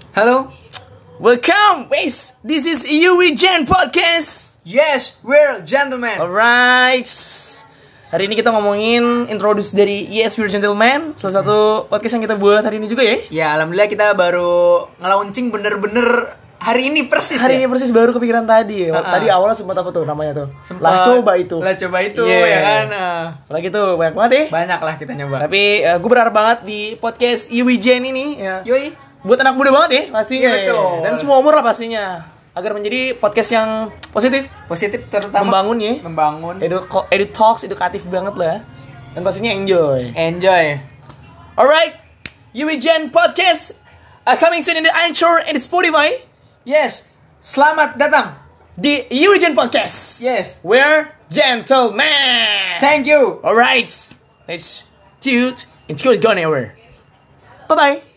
Halo. Welcome, guys. This is Yui Gen Podcast. Yes, we're gentlemen. Alright. Hari ini kita ngomongin introduce dari Yes, We're Gentlemen, salah satu podcast yang kita buat hari ini juga ya. Ya, alhamdulillah kita baru nge-launching bener-bener hari ini persis. Hari ini persis baru kepikiran tadi. Tadi awalnya sempat apa tuh namanya tuh? Lah coba itu. Ya kan. Apalagi tuh banyak banget ya. Banyak lah kita nyoba. Tapi gue berharap banget di podcast Yui Gen ini ya. Yoi. Buat anak muda banget ya pastinya. Iya, betul. Dan semua umur lah pastinya. Agar menjadi podcast yang positif, terutama membangun ya. Membangun. Edu talks edukatif banget lah. Dan pastinya enjoy. Alright, Yui Gen Podcast coming soon in the Anchor and the Spotify. Yes, selamat datang di Yui Gen Podcast. Yes, we're gentlemen. Thank you. Alright, let's do it. It's good gone ever. Bye bye.